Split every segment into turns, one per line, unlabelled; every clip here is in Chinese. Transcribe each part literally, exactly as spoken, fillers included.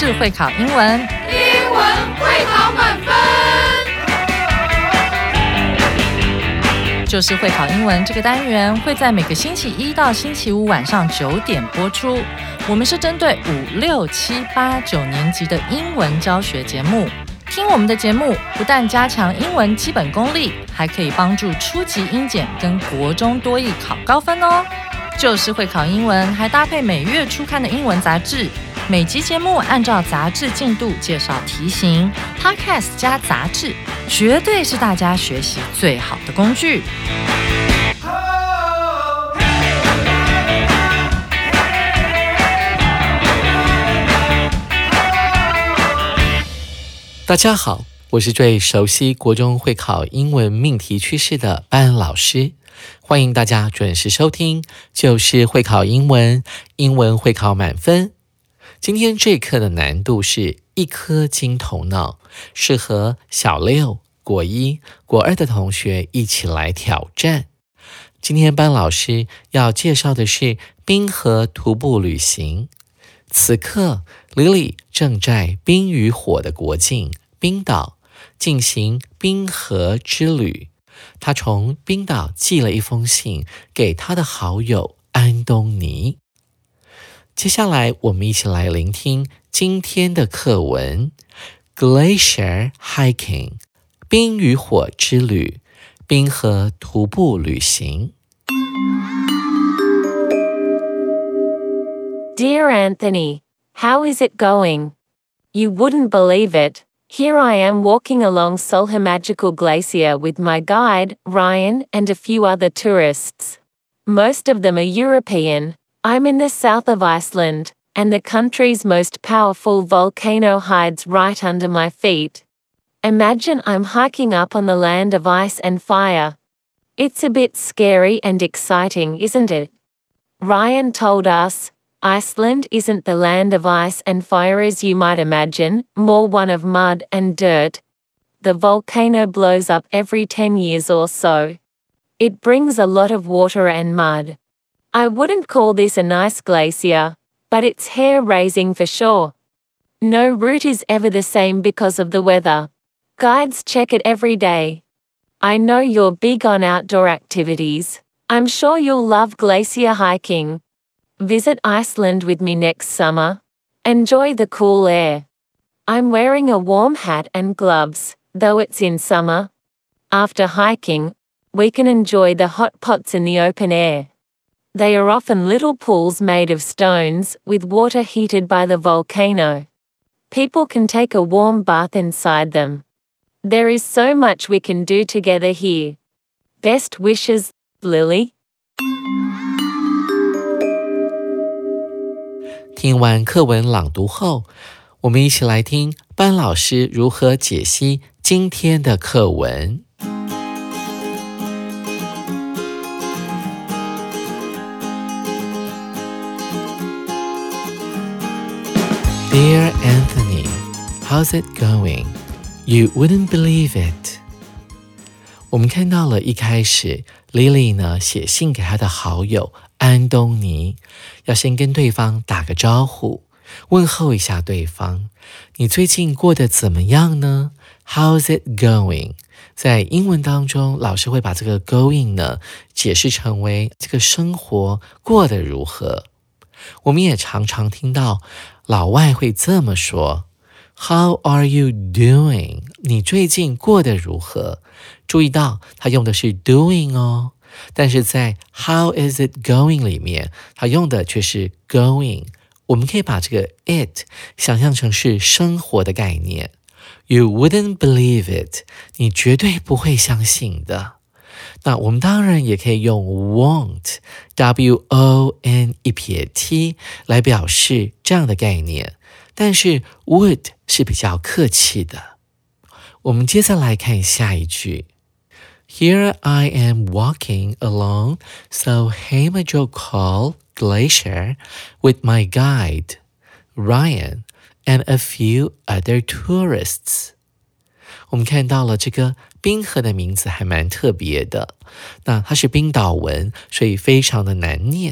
就是会考英文，
英文会考满分。
就是会考英文这个单元会在每个星期一到星期五晚上九点播出。我们是针对五六七八九年级的英文教学节目。听我们的节目，不但加强英文基本功力，还可以帮助初级英检跟国中多益考高分哦。就是会考英文，还搭配每月初刊的英文杂志。每集节目按照杂志进度介绍题型 ，Podcast 加杂志，绝对是大家学习最好的工具。
大家好，我是最熟悉国中会考英文命题趋势的班老师，欢迎大家准时收听，就是会考英文，英文会考满分。今天这课的难度是一颗金头脑，适合小六、国一、国二的同学一起来挑战。今天班老师要介绍的是冰河徒步旅行。此刻 Lily 正在冰与火的国境冰岛进行冰河之旅。她从冰岛寄了一封信给她的好友安东尼。接下来我们一起来聆听今天的课文 Glacier Hiking 冰与火之旅，冰河徒步旅行。
Dear Anthony, how is it going? You wouldn't believe it. Here I am walking along Solher Magical Glacier with my guide, Ryan, and a few other tourists. Most of them are European. I'm in the south of Iceland, and the country's most powerful volcano hides right under my feet. Imagine I'm hiking up on the land of ice and fire. It's a bit scary and exciting, isn't it? Ryan told us, Iceland isn't the land of ice and fire as you might imagine, more one of mud and dirt. The volcano blows up every ten years or so. It brings a lot of water and mud. I wouldn't call this a nice glacier, but it's hair-raising for sure. No route is ever the same because of the weather. Guides check it every day. I know you're big on outdoor activities. I'm sure you'll love glacier hiking. Visit Iceland with me next summer. Enjoy the cool air. I'm wearing a warm hat and gloves, though it's in summer. After hiking, we can enjoy the hot pots in the open air. They are often little pools made of stones, with water heated by the volcano. People can take a warm bath inside them. There is so much we can do together here. Best wishes, Lily.
听完课文朗读后，我们一起来听班老师如何解析今天的课文。Dear Anthony, how's it going? You wouldn't believe it. 我们看到了一开始 Lily 呢写信给她的好友安东尼，要先跟对方打个招呼，问候一下对方。你最近过得怎么样呢？ How's it going? 在英文当中，老师会把这个 going 呢解释成为这个生活过得如何。我们也常常听到老外会这么说 How are you doing? 你最近过得如何？注意到他用的是 doing 哦，但是在 How is it going 里面，他用的却是 going。我们可以把这个 it 想象成是生活的概念。You wouldn't believe it. 你绝对不会相信的。那我们当然也可以用 won't W O N 一撇 T 来表示这样的概念，但是 would 是比较客气的。我们接下来看下一句 Here I am walking along Solheimajokul Glacier with my guide, Ryan, and a few other tourists. 我们看到了这个冰河的名字还蛮特别的，那它是冰岛文，所以非常的难念。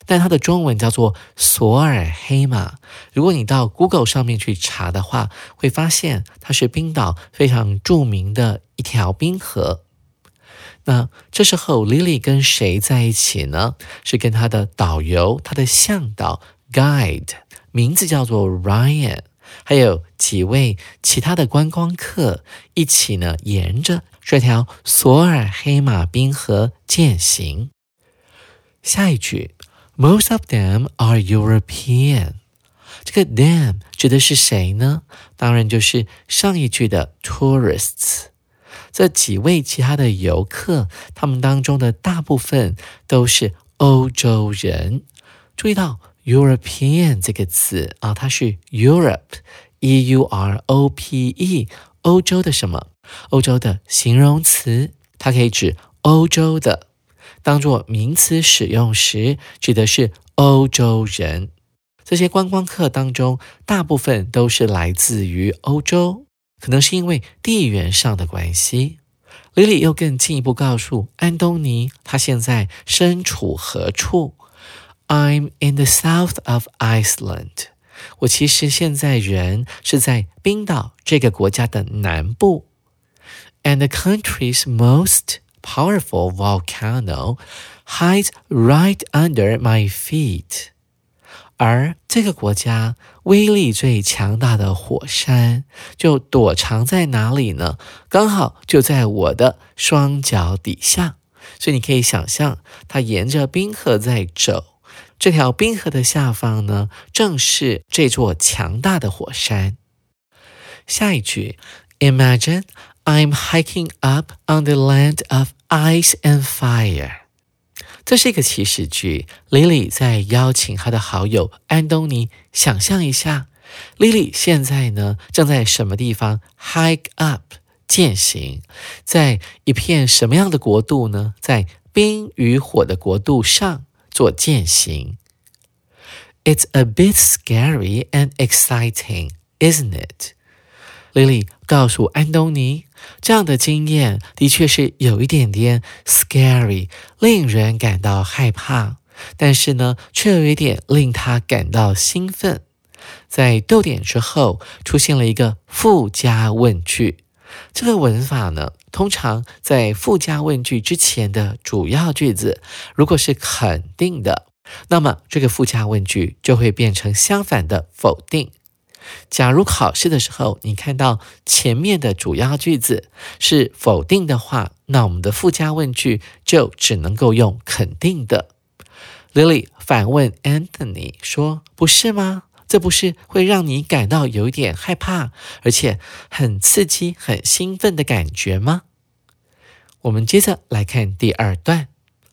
但它的中文叫做索尔黑马。如果你到 Google 上面去查的话，会发现它是冰岛非常著名的一条冰河。那这时候 Lily 跟谁在一起呢？是跟她的导游，她的向导 Guide， 名字叫做 Ryan， 还有几位其他的观光客一起呢，沿着这条索尔黑马冰河践行。下一句 Most of them are European， 这个 them 指的是谁呢？当然就是上一句的 tourists。这几位其他的游客，他们当中的大部分都是欧洲人。注意到 European 这个词啊，它是 Europe E U R O P E 欧洲的什么？欧洲的形容词，它可以指欧洲的，当作名词使用时指的是欧洲人。这些观光客当中大部分都是来自于欧洲，可能是因为地缘上的关系。Lily 又更进一步告诉安东尼，他现在身处何处。I'm in the south of Iceland。我其实现在人是在冰岛这个国家的南部。And the country's most powerful volcano hides right under my feet。而这个国家威力最强大的火山就躲藏在哪里呢？刚好就在我的双脚底下。所以你可以想象，它沿着冰河在走，这条冰河的下方呢，正是这座强大的火山。下一句 Imagine I'm hiking up on the land of ice and fire。这是一个祈使句 Lily 在邀请她的好友安东尼想象一下 Lily 现在呢正在什么地方 hike up 践行，在一片什么样的国度呢？在冰与火的国度上做践行。 It's a bit scary and exciting, isn't it? Lily 告诉安东尼，这样的经验的确是有一点点 scary， 令人感到害怕，但是呢，却有一点令他感到兴奋。在逗点之后出现了一个附加问句，这个文法呢，通常在附加问句之前的主要句子，如果是肯定的，那么这个附加问句就会变成相反的否定。假如考试的时候你看到前面的主要句子是否定的话，那我们的附加问句就只能够用肯定的。 Lily 反问 Anthony 说，不是吗？这不是会让你感到有一点害怕，而且很刺激很兴奋的感觉吗？我们接着来看第二段。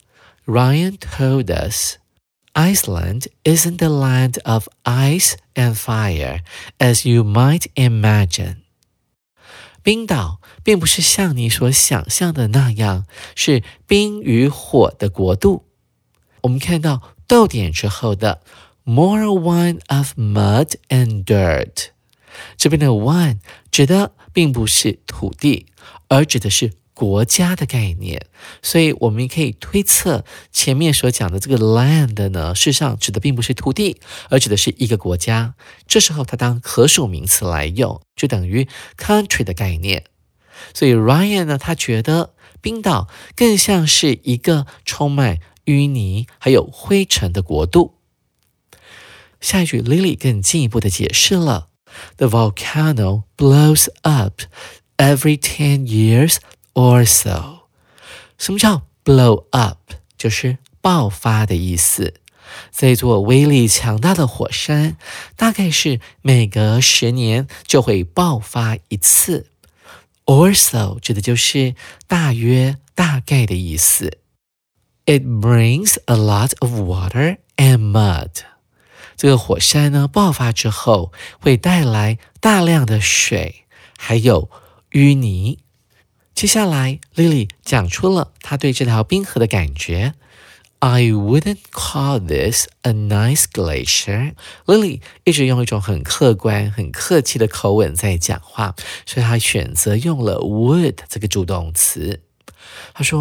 Ryan told us Iceland isn't the land of ice and fire, as you might imagine. 冰岛并不是像你所想象的那样，是冰与火的国度。我们看到逗点之后的 more one of mud and dirt， 这边的 one 指的并不是土地，而指的是国家的概念，所以我们可以推测前面所讲的这个 land 呢，事实上指的并不是土地，而指的是一个国家。这时候它当可数名词来用，就等于 country 的概念。所以 Ryan 呢，他觉得冰岛更像是一个充满淤泥还有灰尘的国度。下一句 Lily 更进一步的解释了 The volcano blows up every ten years or so。 什么叫 blow up？ 就是爆发的意思。这座威力强大的火山大概是每隔十年就会爆发一次。 or so 指的就是大约大概的意思。 It brings a lot of water and mud。 这个火山呢爆发之后会带来大量的水还有淤泥。接下来 Lily 讲出了她对这条冰河的感觉。 I wouldn't call this a nice glacier。 Lily 一直用一种很客观很客气的口吻在讲话，所以她选择用了 would 这个助动词。她说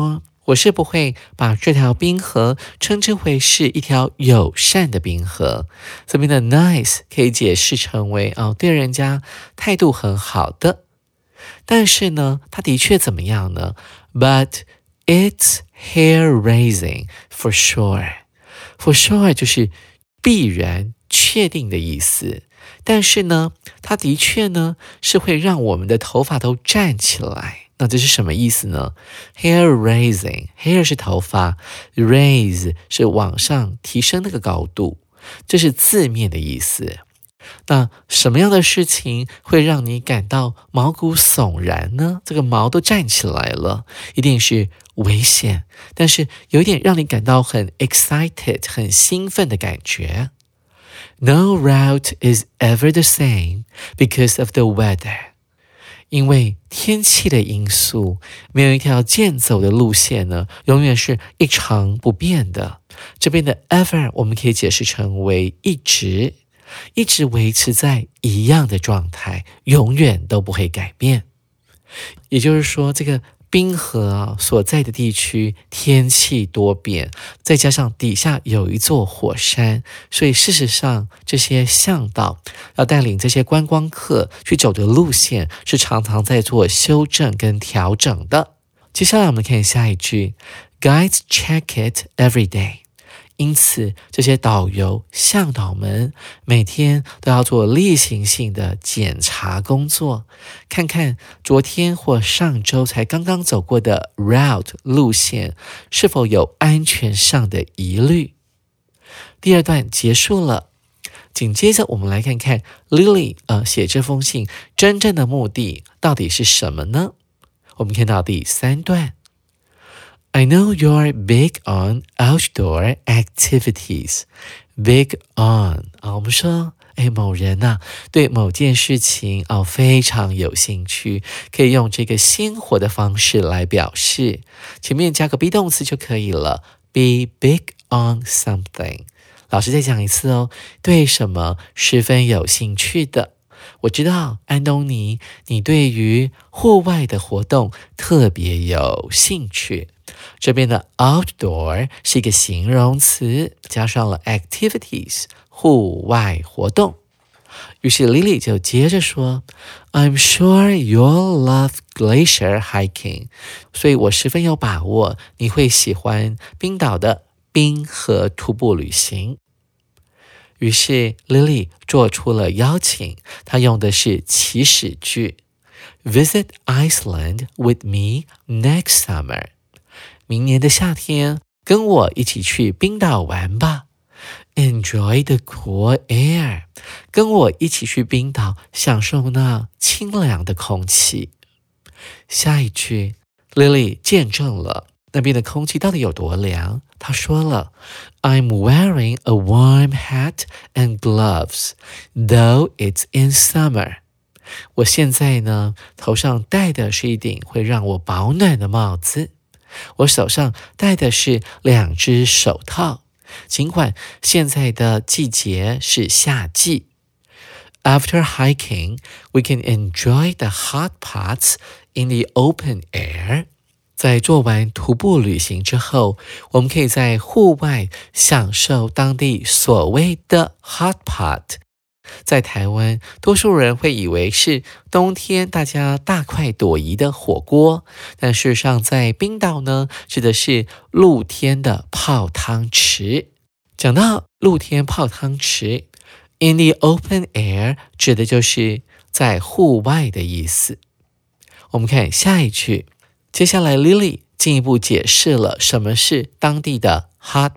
我是不会把这条冰河称之为是一条友善的冰河。这边的 nice 可以解释成为哦，对人家态度很好的。但是呢，它的确怎么样呢？ But it's hair-raising for sure. For sure 就是必然确定的意思。但是呢，它的确呢是会让我们的头发都站起来。那这是什么意思呢？ Hair raising, hair 是头发， raise 是往上提升那个高度，这是字面的意思。那什么样的事情会让你感到毛骨悚然呢？这个毛都站起来了，一定是危险，但是有一点让你感到很 excited 很兴奋的感觉。No route is ever the same because of the weather. 因为天气的因素，没有一条健走的路线呢，永远是一成不变的。这边的 ever 我们可以解释成为一直，一直维持在一样的状态，永远都不会改变。也就是说，这个冰河啊所在的地区天气多变，再加上底下有一座火山，所以事实上这些向导要带领这些观光客去走的路线是常常在做修正跟调整的。接下来我们看下一句 Guides check it every day。因此，这些导游、向导们每天都要做例行性的检查工作，看看昨天或上周才刚刚走过的 route 路线是否有安全上的疑虑。第二段结束了，紧接着我们来看看 Lily 呃写这封信真正的目的到底是什么呢？我们看到第三段。I know you're big on outdoor activities. Big on 啊，我们说，哎，某人啊，对某件事情哦非常有兴趣，可以用这个鲜活的方式来表示，前面加个 be 动词就可以了。Be big on something. 老师再讲一次哦，对什么十分有兴趣的。我知道安东尼，你对于户外的活动特别有兴趣。这边的 outdoor 是一个形容词，加上了 activities 户外活动。于是 Lily 就接着说 I'm sure you'll love glacier hiking. 所以我十分有把握你会喜欢冰岛的冰河徒步旅行。于是 Lily 做出了邀请，她用的是祈使句 Visit Iceland with me next summer. 明年的夏天跟我一起去冰岛玩吧。 Enjoy the cool air. 跟我一起去冰岛享受那清凉的空气。下一句 Lily 见证了那边的空气到底有多凉。她说了 I'm wearing a warm hat and gloves, though it's in summer. 我现在呢，头上戴的是一顶会让我保暖的帽子。我手上戴的是两只手套，尽管现在的季节是夏季。After hiking, we can enjoy the hot pots in the open air. 在做完徒步旅行之后，我们可以在户外享受当地所谓的 hot pot。在台湾，多数人会以为是冬天大家大快朵颐的火锅，但事实上在冰岛呢，指的是露天的泡汤池。讲到露天泡汤池 in the open air 指的就是在户外的意思。我们看下一句，接下来 Lily 进一步解释了什么是当地的 hot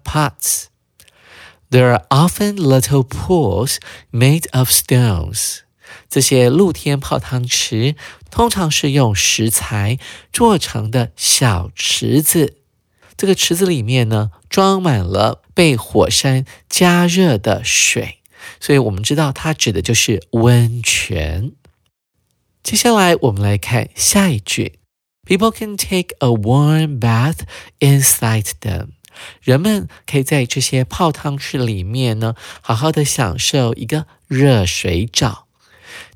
pots。There are often little pools made of stones. 这些露天泡汤池通常是用石材做成的小池子。这个池子里面呢，装满了被火山加热的水，所以我们知道它指的就是温泉。接下来我们来看下一句 People can take a warm bath inside them.人们可以在这些泡汤池里面呢，好好的享受一个热水澡。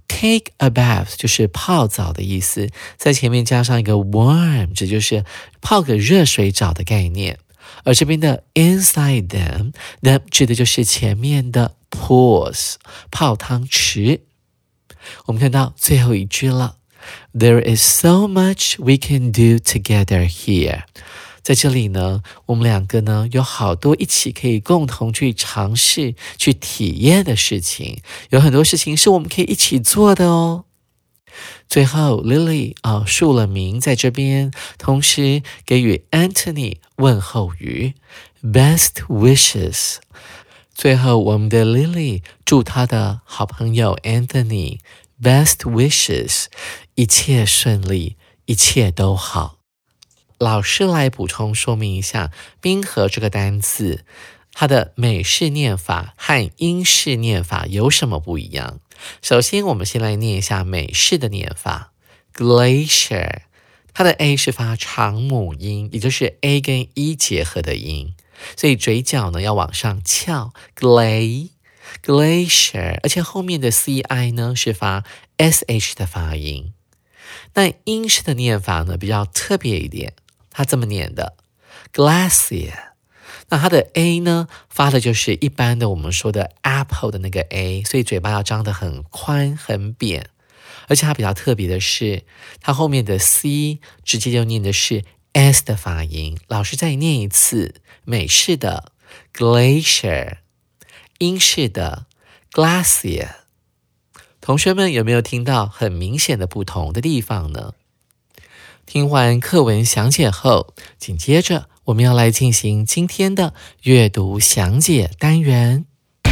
take a bath 就是泡澡的意思，在前面加上一个 warm， 这就是泡个热水澡的概念。而这边的 inside them them 指的就是前面的 pools 泡汤池。我们看到最后一句了， There is so much we can do together here。 在这里呢，我们两个呢有好多一起可以共同去尝试去体验的事情，有很多事情是我们可以一起做的哦。最后 Lily 啊、哦、署了名在这边，同时给予 Anthony 问候语 Best wishes。 最后我们的 Lily 祝他的好朋友 Anthony Best wishes， 一切顺利，一切都好。老师来补充说明一下冰河这个单字，它的美式念法和英式念法有什么不一样。首先我们先来念一下美式的念法 Glacier， 它的 A 是发长母音，也就是 A 跟 E 结合的音，所以嘴角呢要往上翘 Gla Glacier， 而且后面的 C I 呢是发 S H 的发音。那英式的念法呢比较特别一点，它这么念的 Glacier， 那它的 A 呢发的就是一般的我们说的 apple 的那个 A， 所以嘴巴要张得很宽很扁。而且它比较特别的是，它后面的 C 直接就念的是 S 的发音。老师再念一次，美式的 Glacier， 英式的 Glacier。 同学们有没有听到很明显的不同的地方呢？听完课文详解后，紧接着我们要来进行今天的阅读详解单元。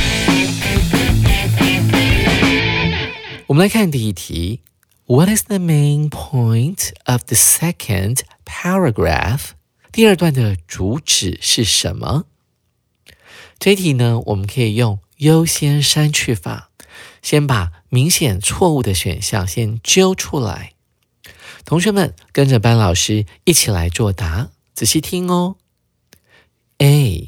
我们来看第一题 What is the main point of the second paragraph？ 第二段的主旨是什么？这一题呢，我们可以用优先删去法，先把明显错误的选项先揪出来。同学们跟着班老师一起来作答，仔细听哦。A.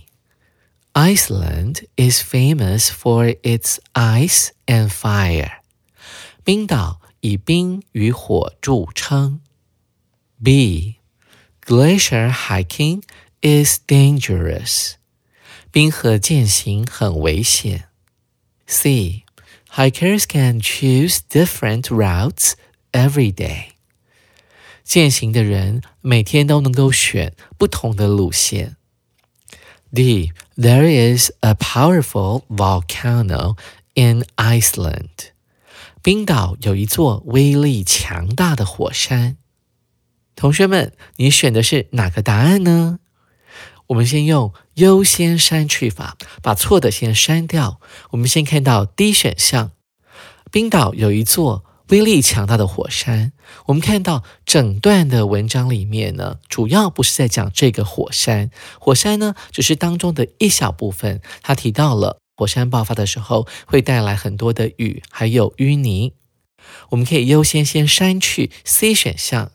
Iceland is famous for its ice and fire. 冰岛以冰与火著称。B. Glacier hiking is dangerous. 冰河健行很危险。C. Hikers can choose different routes every day. 健行的人每天都能够选不同的路线。D. There is a powerful volcano in Iceland. 冰岛有一座威力强大的火山。同学们，你选的是哪个答案呢？我们先用优先删去法，把错的先删掉。我们先看到 D 选项，冰岛有一座威力强大的火山。我们看到整段的文章里面呢，主要不是在讲这个火山，火山呢只是当中的一小部分。他提到了火山爆发的时候会带来很多的雨，还有淤泥。我们可以优先先删去 C 选项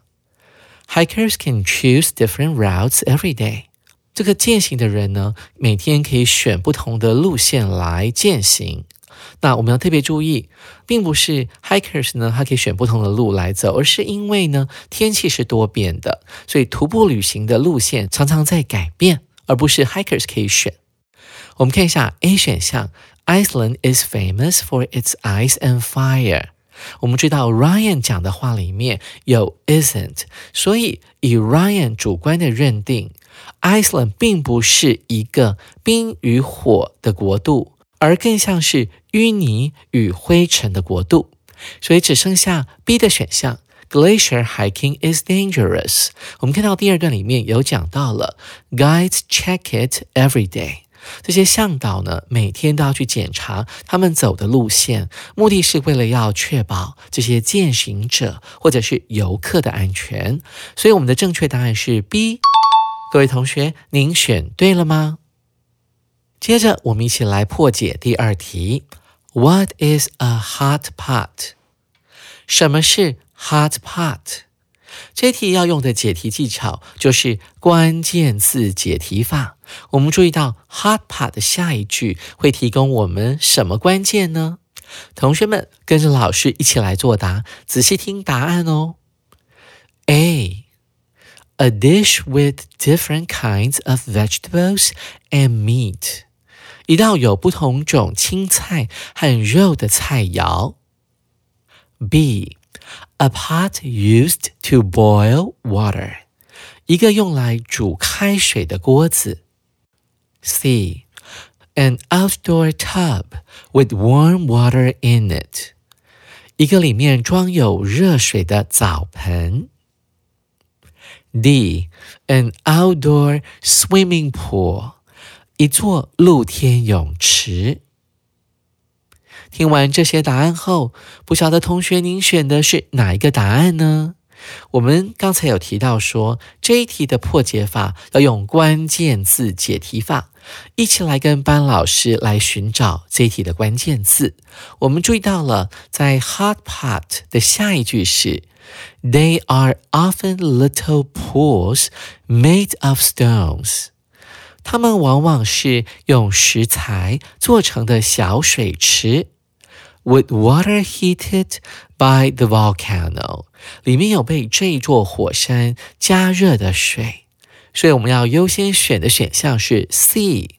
Hikers can choose different routes every day。 这个健行的人呢，每天可以选不同的路线来健行。那我们要特别注意，并不是 hikers 呢，他可以选不同的路来走，而是因为呢，天气是多变的，所以徒步旅行的路线常常在改变，而不是 hikers 可以选。我们看一下 A 选项 Iceland is famous for its ice and fire。 我们知道 Ryan 讲的话里面有 isn't， 所以以 Ryan 主观的认定 Iceland 并不是一个冰与火的国度，而更像是淤泥与灰尘的国度，所以只剩下 B 的选项 Glacier hiking is dangerous。 我们看到第二段里面有讲到了 Guides check it every day， 这些向导呢每天都要去检查他们走的路线，目的是为了要确保这些健行者或者是游客的安全。所以我们的正确答案是 B。 各位同学，您选对了吗？接着我们一起来破解第二题 What is a hot pot？ 什么是 hot pot？ 这题要用的解题技巧就是关键字解题法。我们注意到 hot pot 的下一句会提供我们什么关键呢？ 同学们跟着老师一起来作答，仔细听答案哦。A. A dish with different kinds of vegetables and meat. 一道有不同种青菜和肉的菜肴。B. A pot used to boil water. 一个用来煮开水的锅子。C. An outdoor tub with warm water in it. 一个里面装有热水的澡盆。D. An outdoor swimming pool. 一座露天泳池。听完这些答案后，不晓得同学您选的是哪一个答案呢？我们刚才有提到说，这一题的破解法要用关键字解题法，一起来跟班老师来寻找这一题的关键字。我们注意到了，在 hot pot 的下一句是 They are often little pools made of stones. 它们往往是用石材做成的小水池。With water heated by the volcano. 里面有被这座火山加热的水，所以我们要优先选的选项是 C.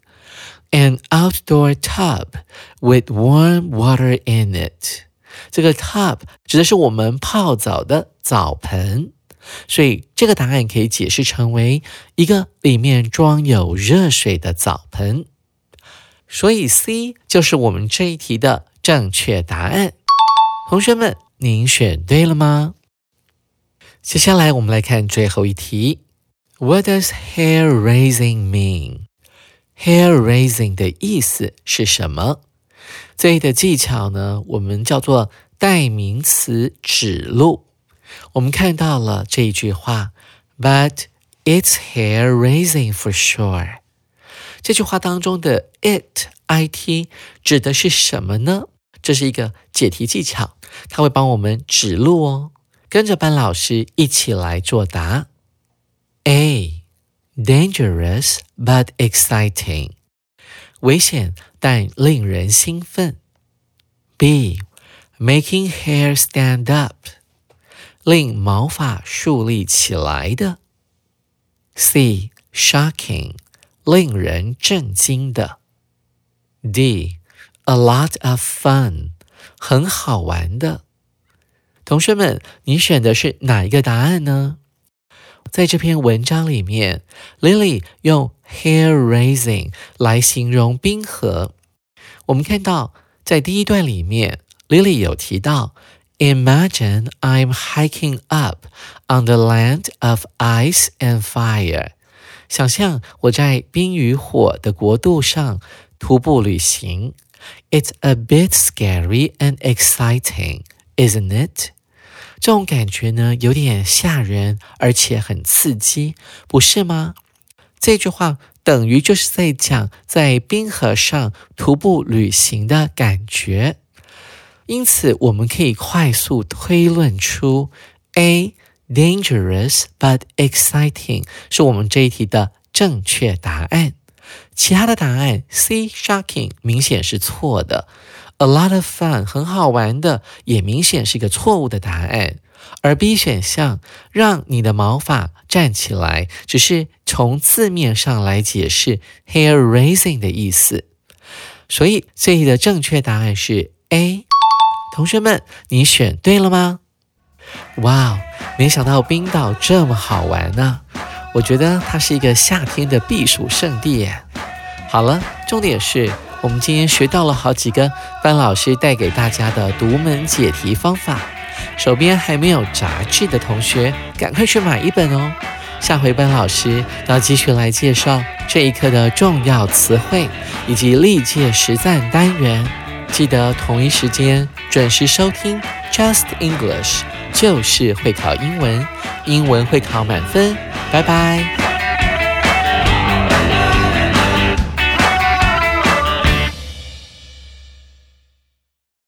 An outdoor tub with warm water in it. 这个 tub 指的是我们泡澡的澡盆，所以这个答案可以解释成为一个里面装有热水的澡盆，所以 C 就是我们这一题的正确答案。同学们，您选对了吗？接下来我们来看最后一题。What does hair raising mean? Hair raising 的意思是什么？这里的技巧呢，我们叫做代名词指路。我们看到了这一句话 But it's hair raising for sure. 这句话当中的 it, it 指的是什么呢？这是一个解题技巧，它会帮我们指路哦。跟着班老师一起来作答。A. Dangerous but exciting. 危险但令人兴奋。B. Making hair stand up. 令毛发竖立起来的。C. Shocking. 令人震惊的。D. A lot of fun. 很好玩的。同学们，你选的是哪一个答案呢？在这篇文章里面 Lily 用 hair raising 来形容冰河。我们看到在第一段里面 Lily 有提到 Imagine I'm hiking up on the land of ice and fire. 想象我在冰与火的国度上徒步旅行。It's a bit scary and exciting, isn't it? 这种感觉呢，有点吓人，而且很刺激，不是吗？这句话等于就是在讲在冰河上徒步旅行的感觉。因此，我们可以快速推论出 A. Dangerous but exciting 是我们这一题的正确答案。其他的答案 C. Shocking 明显是错的。A lot of fun 很好玩的也明显是一个错误的答案，而 B 选项让你的毛发站起来只是从字面上来解释 hair raising 的意思，所以这里的正确答案是 A。 同学们，你选对了吗？哇，没想到冰岛这么好玩呢、啊、我觉得它是一个夏天的避暑胜地耶。好了，重点是我们今天学到了好几个班老师带给大家的独门解题方法，手边还没有杂志的同学赶快去买一本哦。下回班老师要继续来介绍这一课的重要词汇以及历届实战单元，记得同一时间准时收听 Just English， 就是会考英文，英文会考满分，拜拜。